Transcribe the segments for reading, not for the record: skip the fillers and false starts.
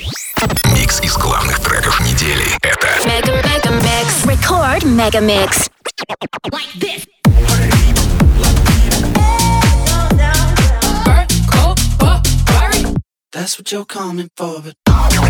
Микс из главных треков недели. Это Megamix. Record Megamix. Like this. That's what you're coming for, but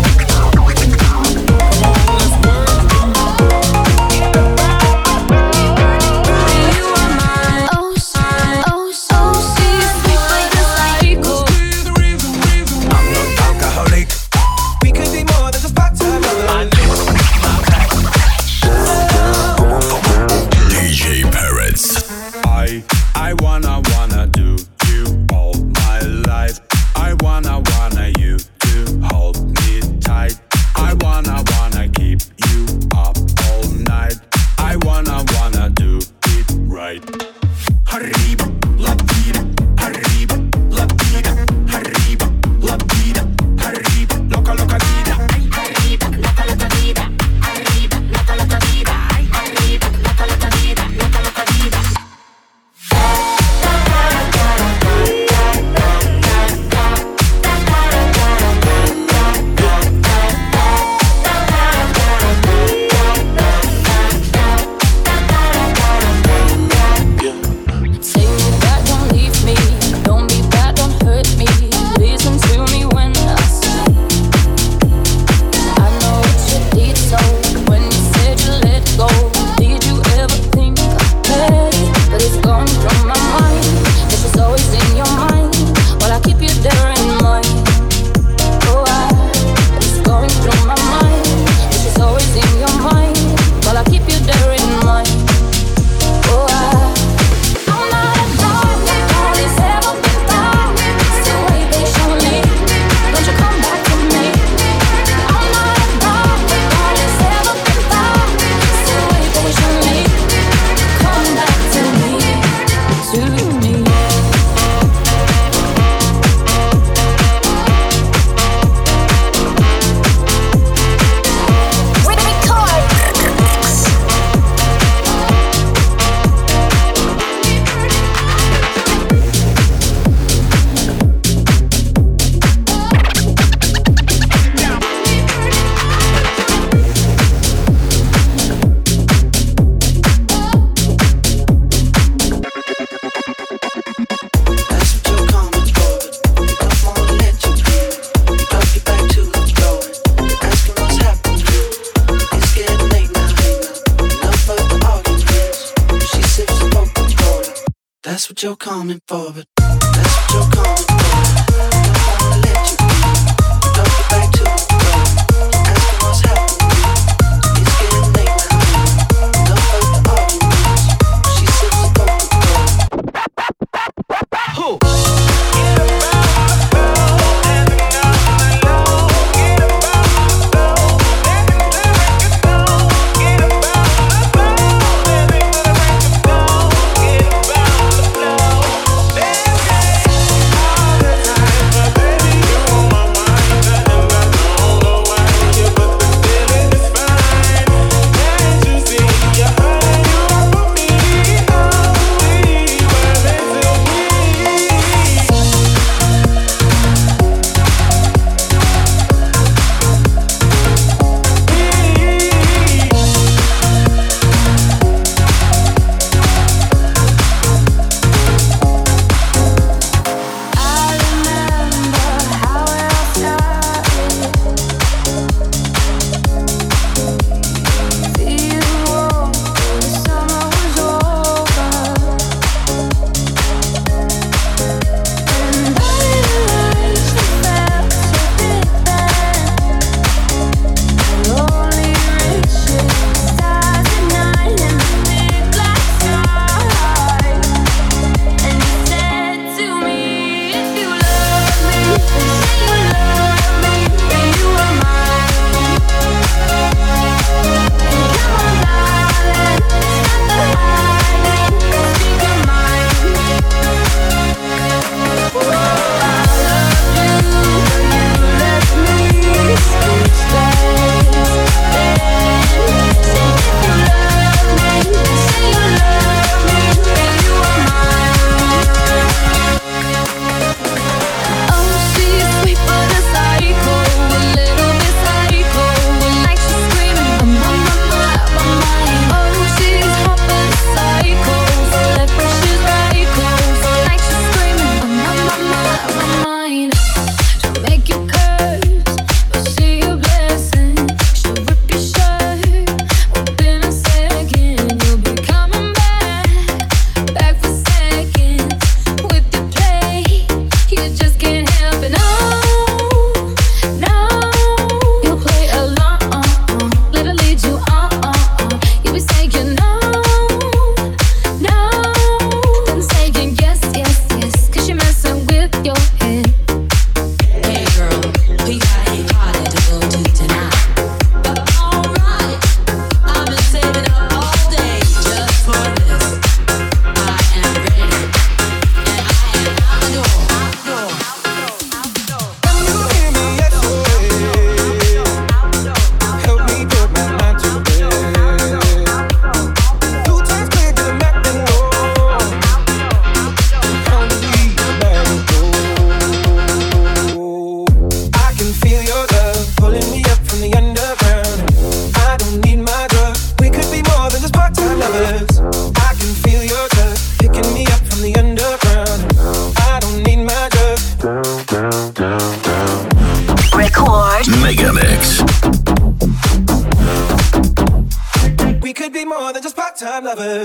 I wanna do you all my life. I wanna you to hold me tight. I wanna keep you up all night. I wanna do it right. Arriba, la vida, arriba, la vida, arriba, la vida, arriba, loca, loca vida. Arriba, loca, loca vida. Arriba, loca, loca vida. Arriba, loca, loca vida. Loca, loca vida. that's what you're coming for, but that's what you're coming for. Don't wanna let you go. Don't get back to the road. Asking what's happening. It's getting late now. Enough of the arguments. She sips the Coca-Cola. Who? Get pulling me up from the underground. I don't need my drug. We could be more than just part-time lovers. I can feel your touch picking me up from the underground. I don't need my drug. Record Megamix. We could be more than just part-time lovers.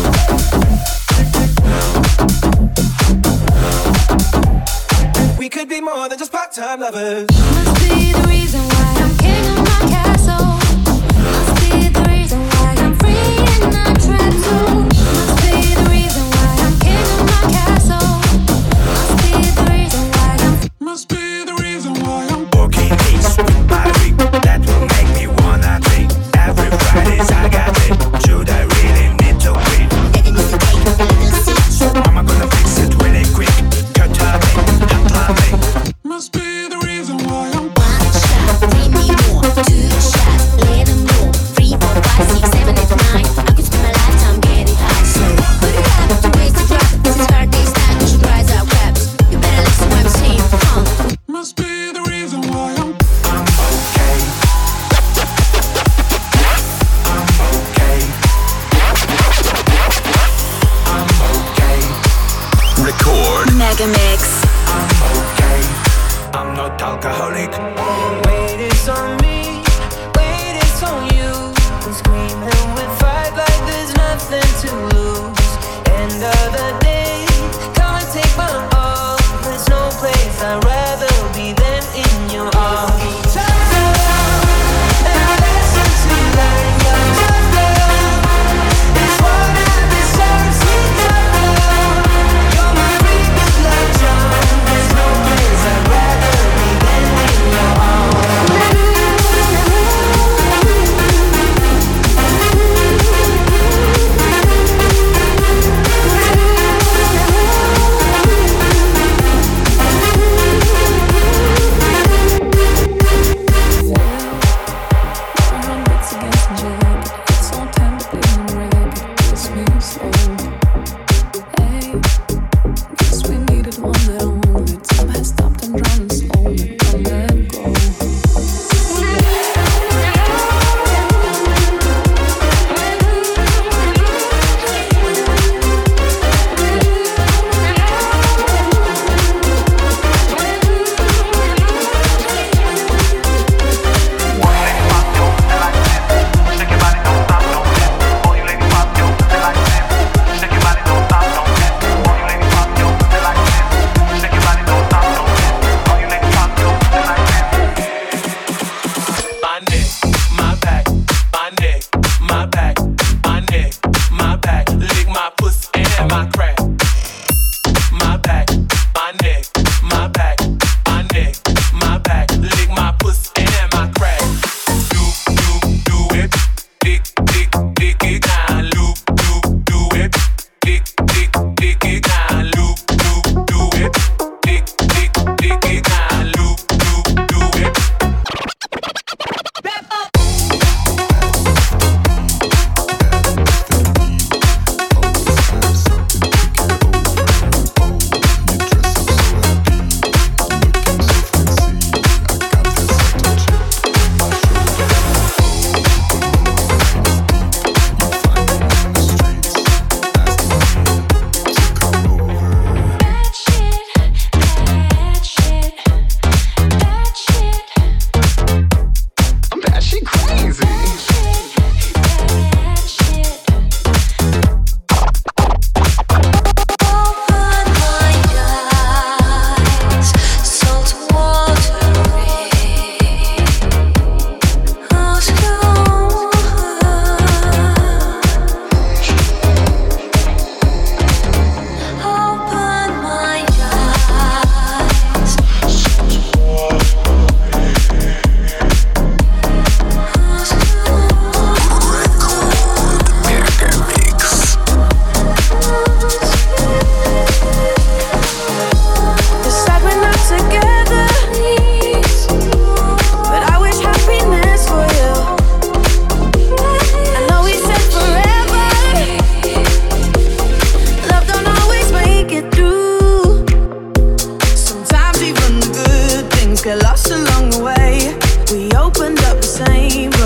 We could be more than just part-time lovers. Must be the reason why I'm king of my castle. Must be the reason why I'm free and not trapped too. Must be the reason why I'm king of my castle. Must be the reason why I'm. Must be the reason why I'm walking east with my ring. That will make me wanna drink. Every Fridays I got it. Should I really need to quit? Am I gonna fix it really quick? Cut me, hot me. Must be the reason why I'm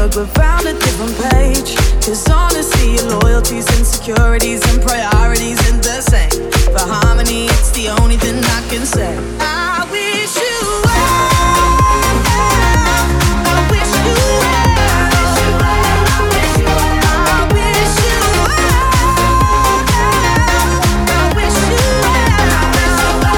look, we found a different page. Cause honestly, your loyalties, insecurities, and priorities ain't the same. For harmony, it's the only thing I can say. I wish you well. I wish you well. I wish you well. I wish you well. I wish you well.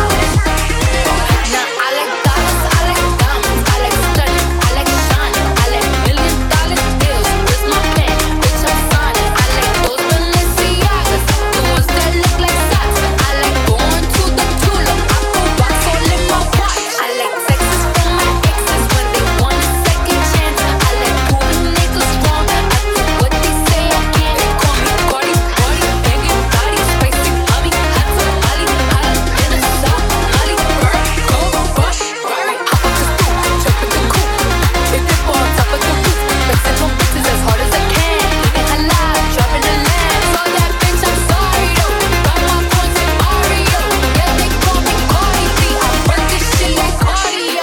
Now I like dollars, I like diamonds, I like stunning, I like shining, I like $1 million deals. Where's my pen? Bitch, I'm signing. I like those Balenciagas, the ones that look like socks. I like going to the tulip, I put rocks all in my watch. I like texts from my exes when they want a second chance. I like proving niggas wrong. I do what they say I can't. They call me Cardi, Cardi, banging body, spicy, mommy, hot tamale, hot in the south, Molly, bird, cold, rush, Ferrari, hop up the stoop, jump in the coupe, hit the ball on top of the roof, flexing on bitches as hard as I can, living her life, driving the land. So that bitch, I'm sorry though, got my points in Mario. Yeah, they call me Cardi B, I run this shit like cardio.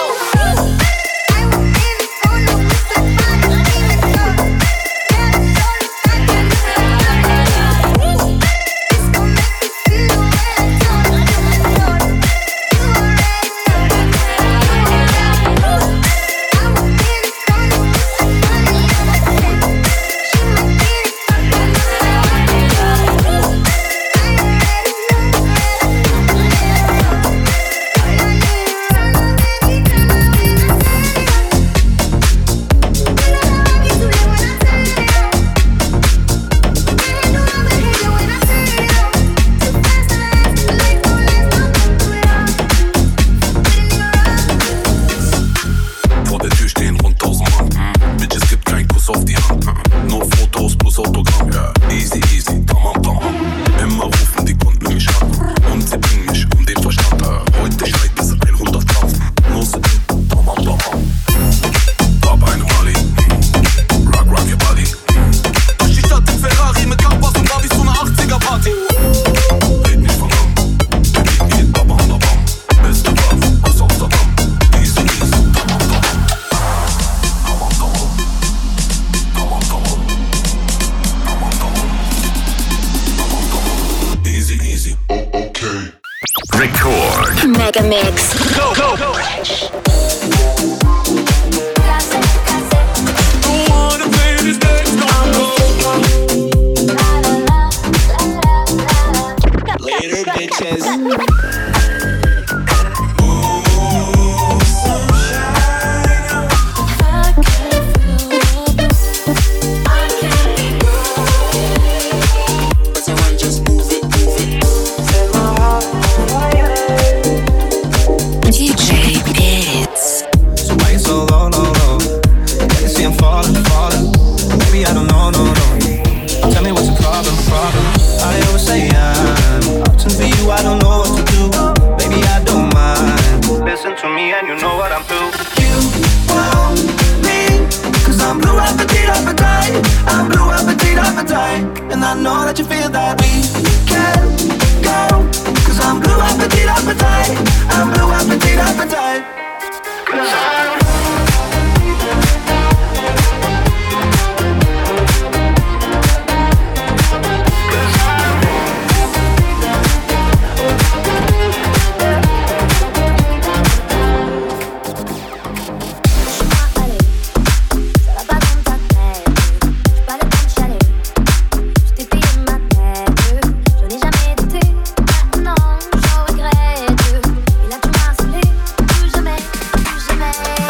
Vor der Tür stehen rund 1000 Mann. Bitch, es gibt keinen Kuss auf die Hand. Nur Fotos plus Autogramm. Easy, easy, tamam, tamam. Immer rufen die Kunden mich an. Und sie bringen mich um den Verstand. Heute schreit bis 100.000. Nur sie tamam, tamam. Papa eine Mali. Rock, rock your body. Durch die Stadt im Ferrari mit Gabas und Babys zu einer 80er-Party. Red nicht von an. Der Beat geht bam, bam, bam. Beste Waffe aus Amsterdam. Easy, easy, tamam, tamam. Tamam, tamam. Tamam, tamam. Tamam, tamam. Tamam, tamam. Easy, easy. Okay. Record. Mega Mix. Later, bitches. DJ Bits. So why you so low, low, low? Can't you see I'm falling, falling? Maybe I don't know, no, no. Tell me what's the problem, problem? I always say I'm option for you, I don't know what to do. Baby, I don't mind. Listen to me and you know what I'm through. You want me, cause I'm blue appetite, appetite. I'm blue appetite, appetite. And I know that you feel that we can go. Cause I'm blue appetite, appetite. I'm blue appetite, appetite. Cause I'm Jamais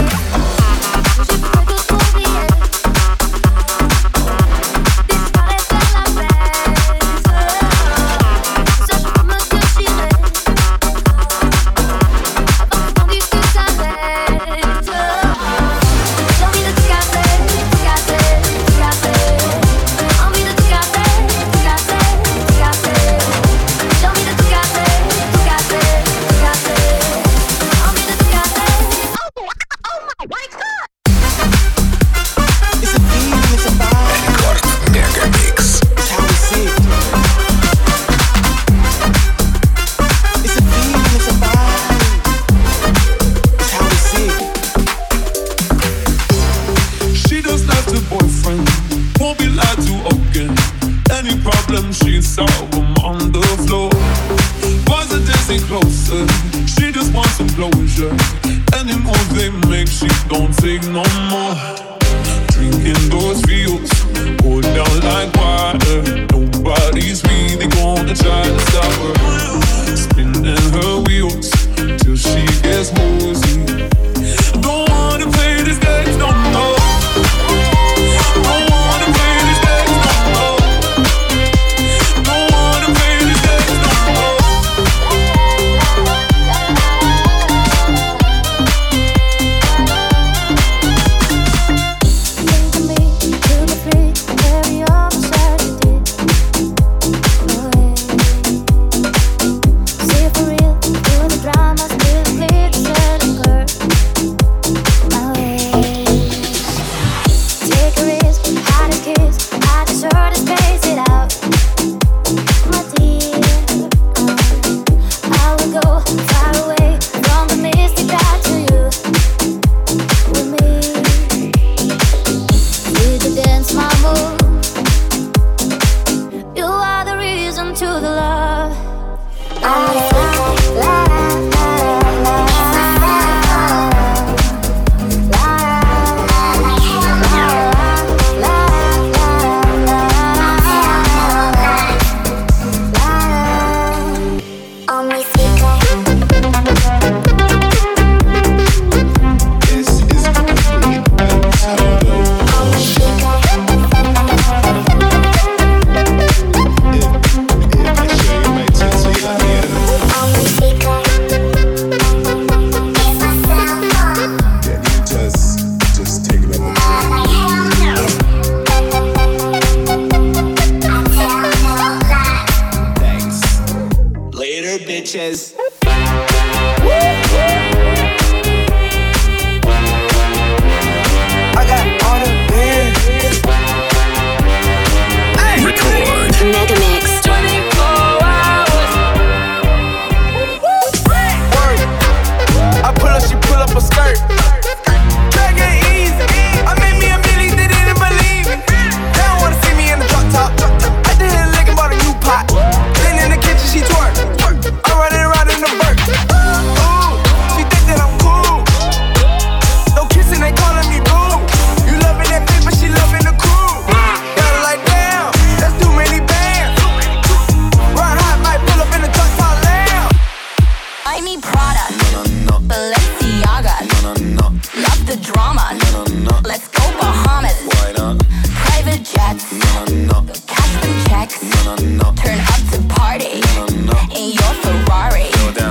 take no more. Drinking those fields, go down like water. Nobody's really gonna try to stop her. Spinning her wheels till she gets woozy. Don't wanna play this game no more. Don't wanna play this game no more. Don't wanna play this game no more. Think of me to be free, carry on certainty. See for real, through the drama, still clear the certain curve. My way. Take a risk, hide a kiss, I deserve to space it out. My dear, I will go far away from the mystic back to you. With me, with the dance, my move. You are the reason to the love. This is complete and total. If I show you my tits, will you let me in? Yeah, just take it over. Thanks. Later, bitches. I got all the beer. Record. Mega Mix. 24 hours. Word. I pull up, she pull up a skirt. Take it easy. I made me a million, they didn't believe me. They don't wanna see me in the drop top. I did a lick and bought a new pot. Then in the kitchen, she twerk. I'm running around in the vert. Ooh, she think that I'm cool. No kissing, they calling me boo. You loving that paper, she loving the crew. Got her like damn, that's too many bands. Run hot, might pull up in the truck top lamb. I need Prada, Balenciaga, love the drama, let's go Bahamas, private jets, cash them checks, turn up to party, in your Ferrari.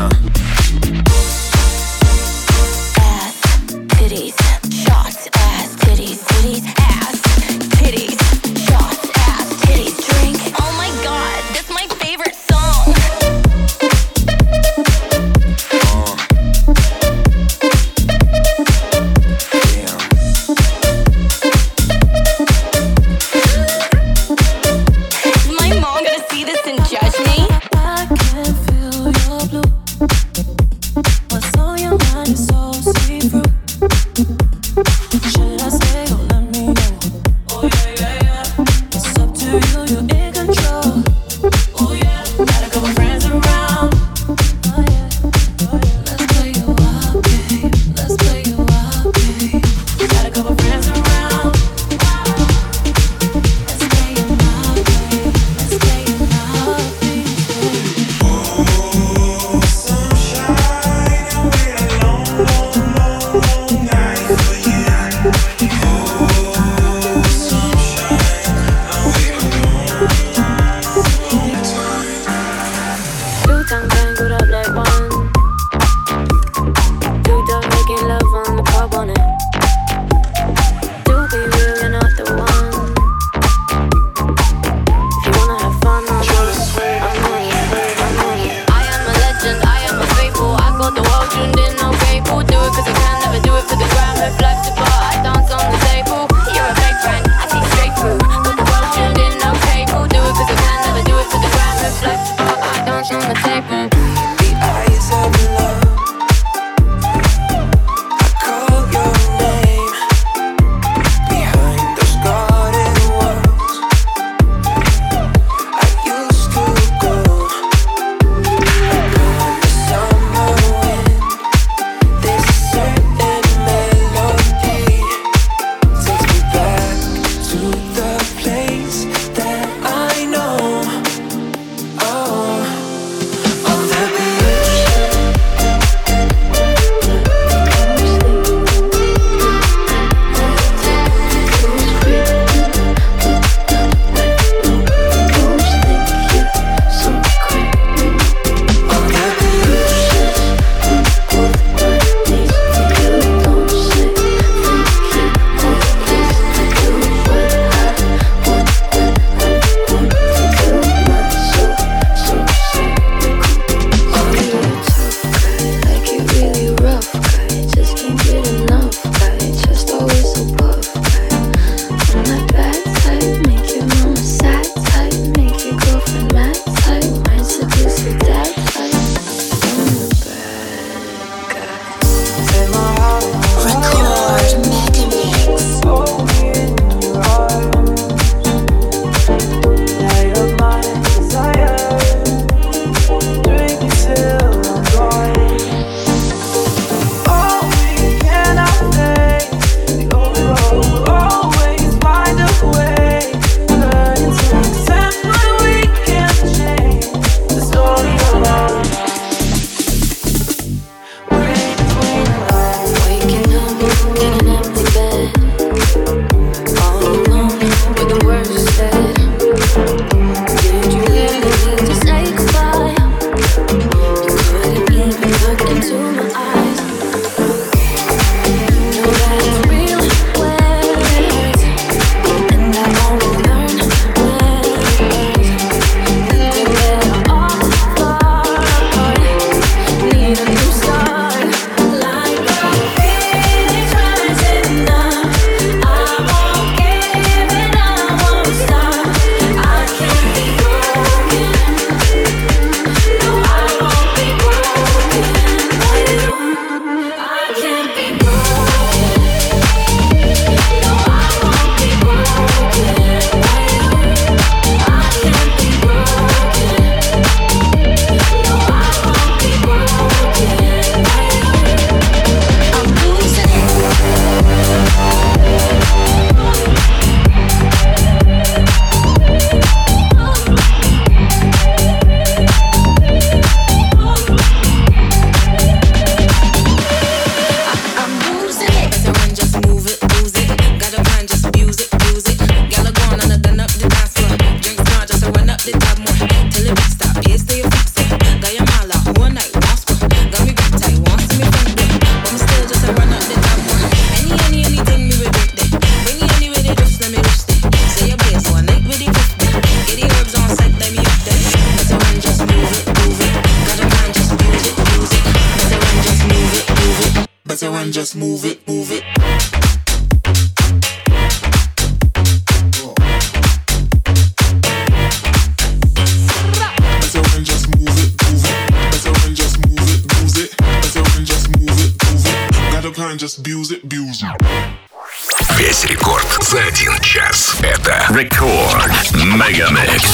Ass, titties, shots, ass, titties, titties, ass, titties, shots, ass, titties, drink. Oh my god, that's my favorite song. Damn. hand, just move it, move it. Better when just move it, move it. Better when just move it, move it. Better when just move it, move it. Got a plan, just abuse it, abuse it. Весь рекорд за 1 час. Это Рекорд Мегамикс.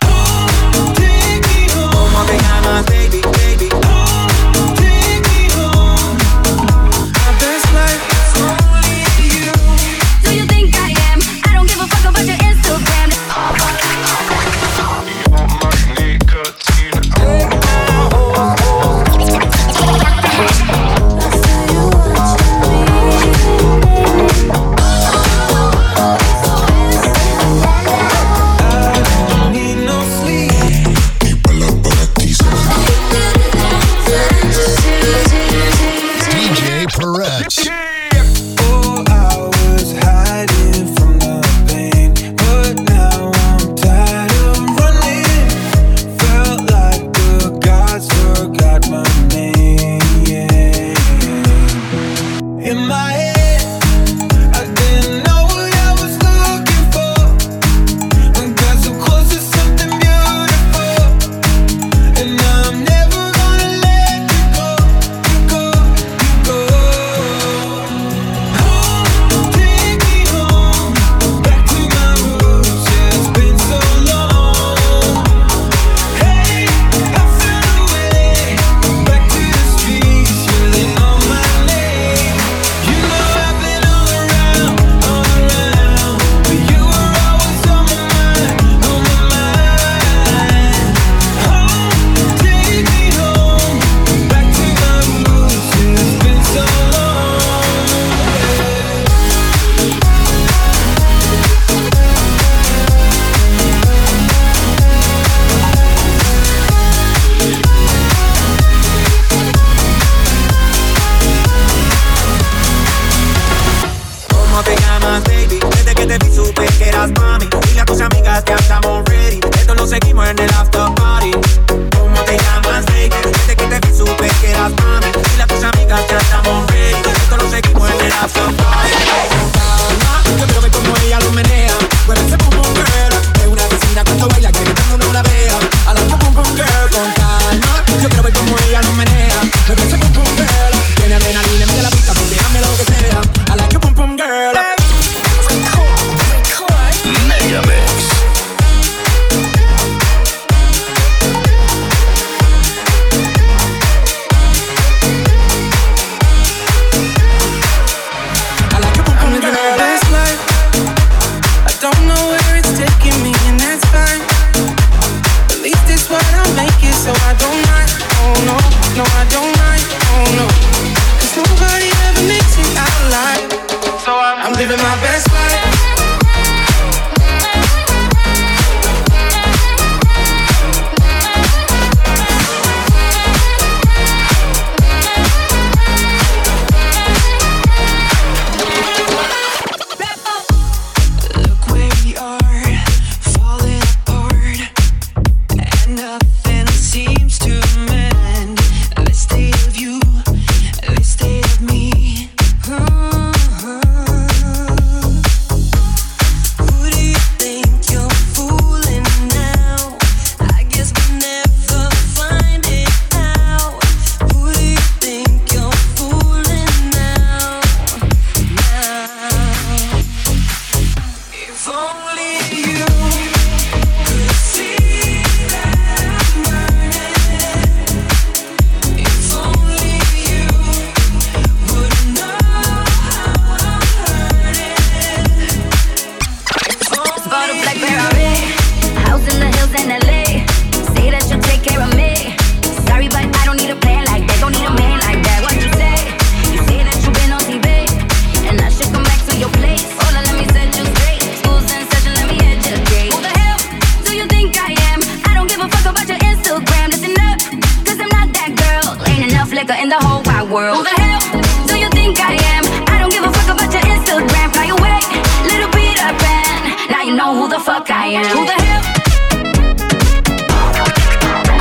In the whole wide world. Who the hell do you think I am? I don't give a fuck about your Instagram. Fly away, little Peter Pan. Now you know who the fuck I am. Who the hell?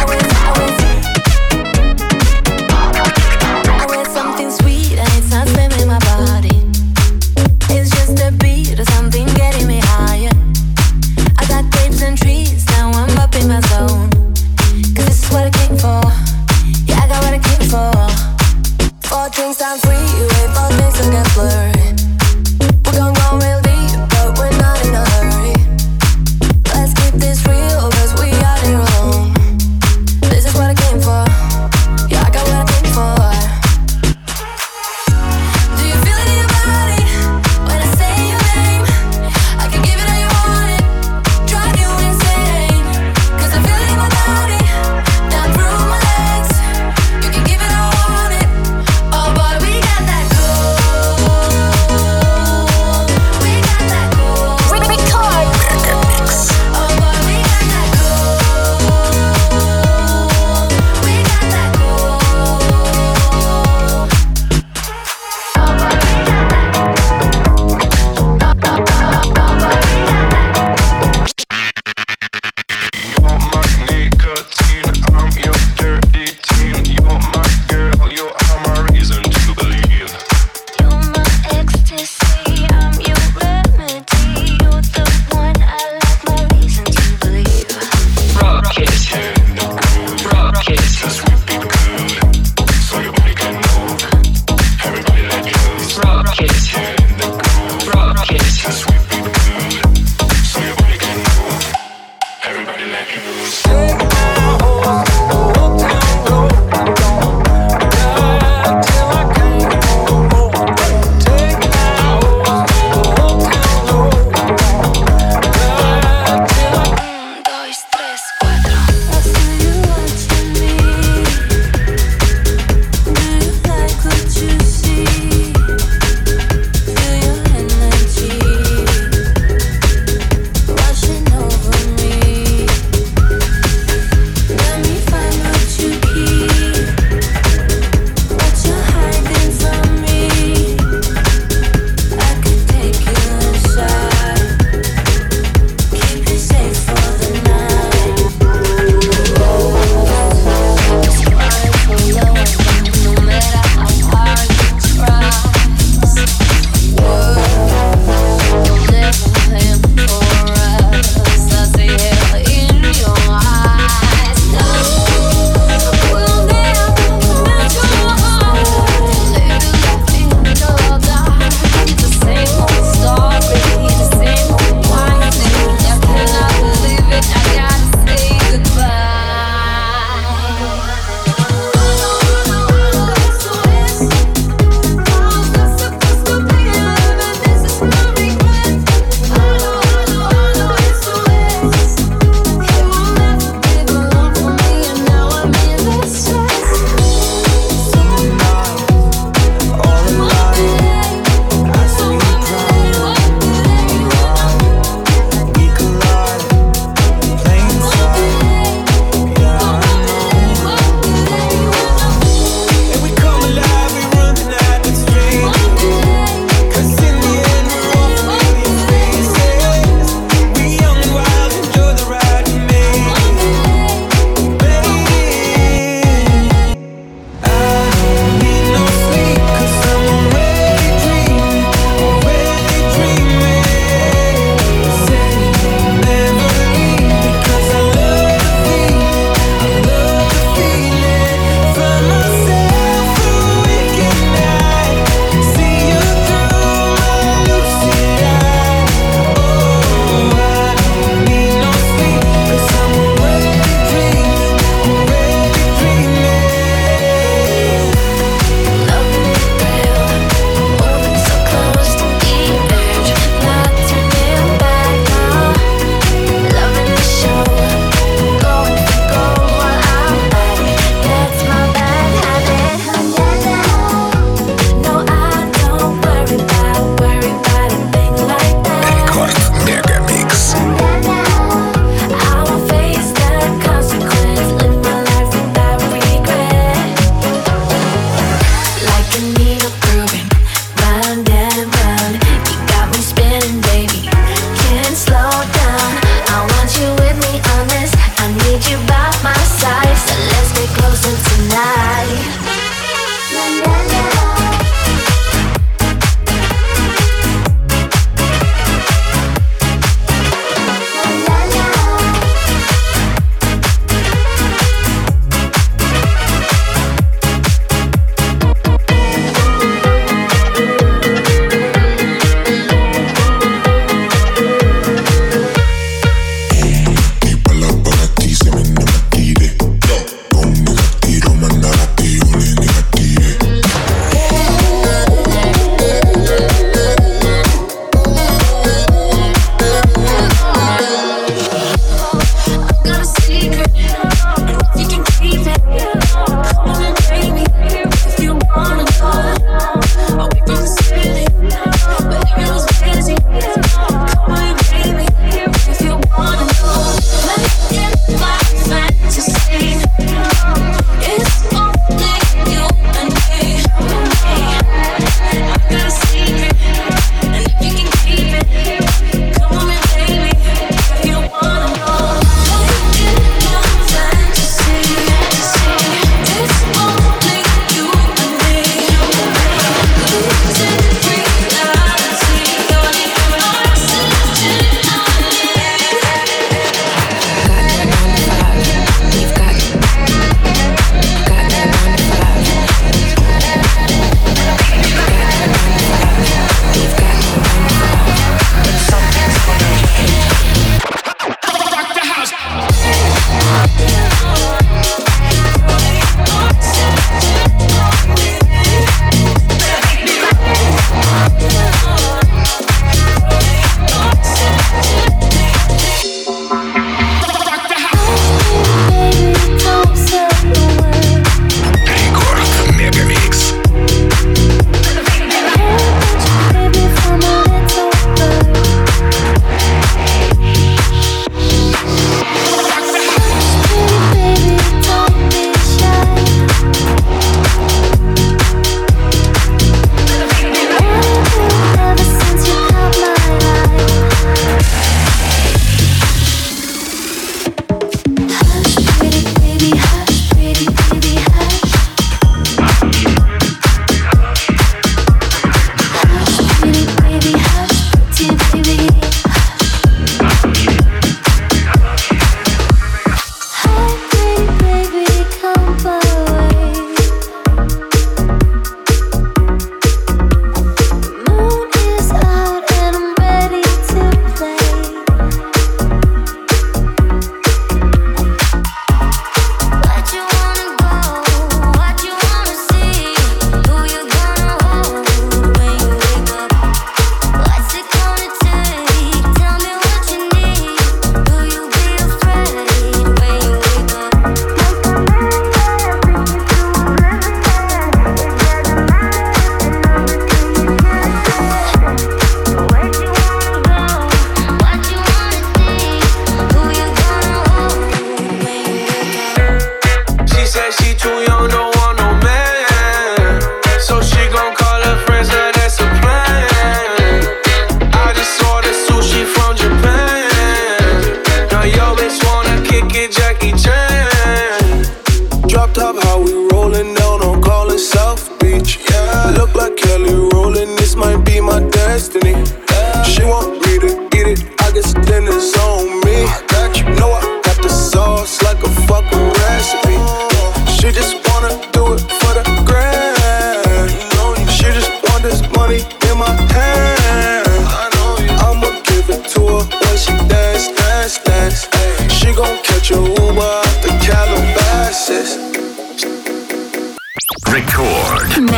I wear something sweet and it's not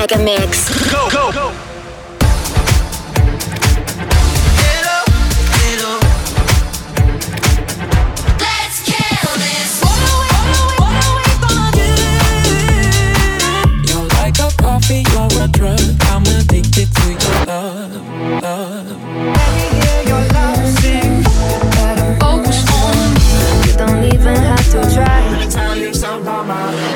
Mega Mix. Go, go, go. You're a drug, I'm addicted to your love. Let me hear your love sing. Focus on me. You don't even have to try. Let me tell you something about my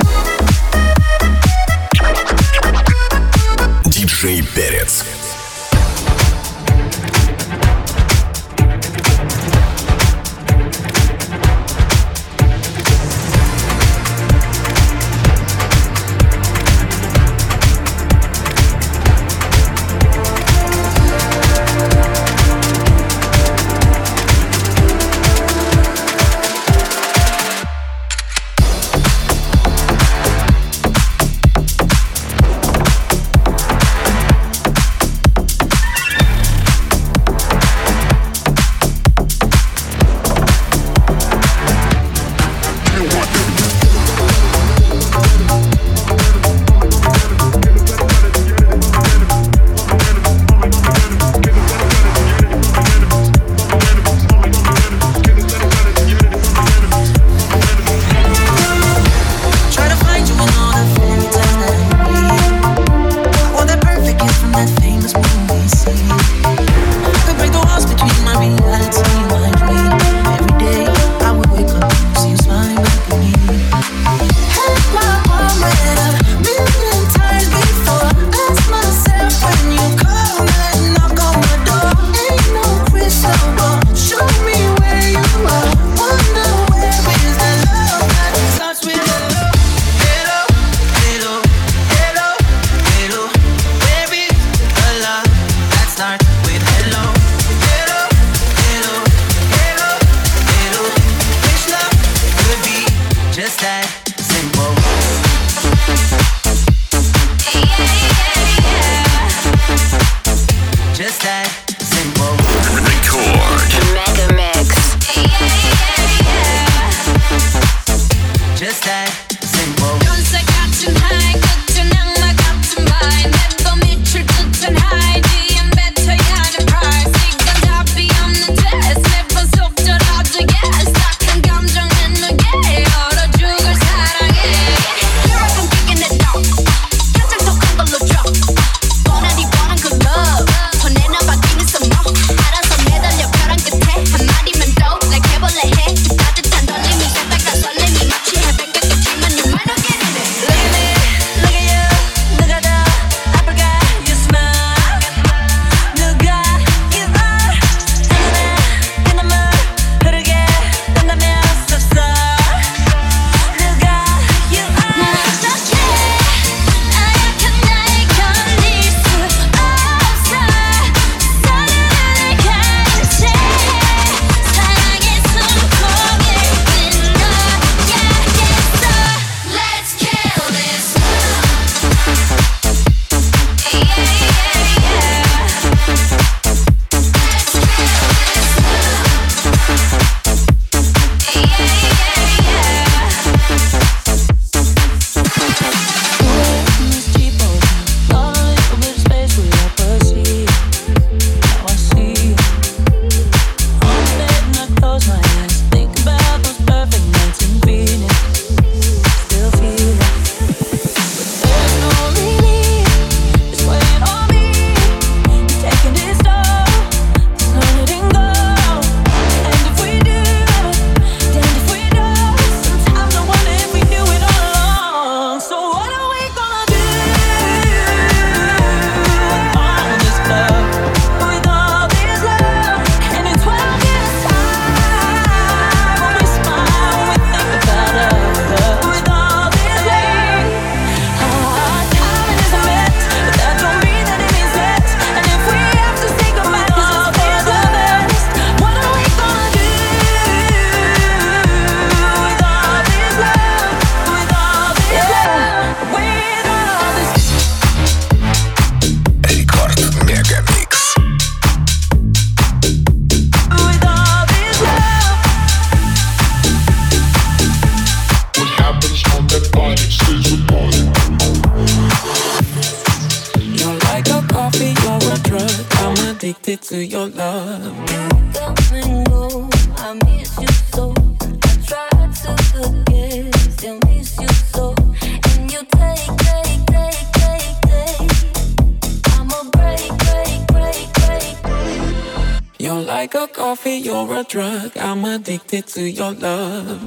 Диджей Перец. to your love. You come and go, I miss you so. I try to forget, still miss you so. And you take. I'ma break. You're like a coffee, you're a drug. I'm addicted to your love.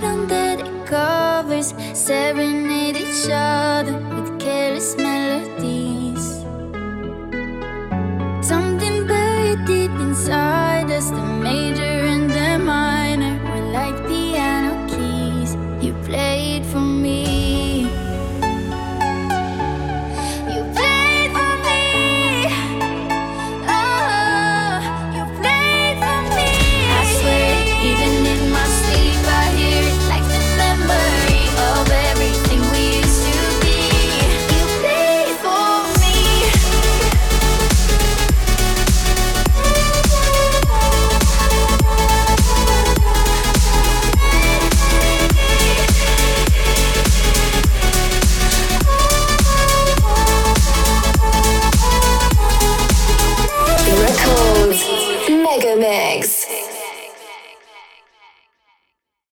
serenade each other with careless melody.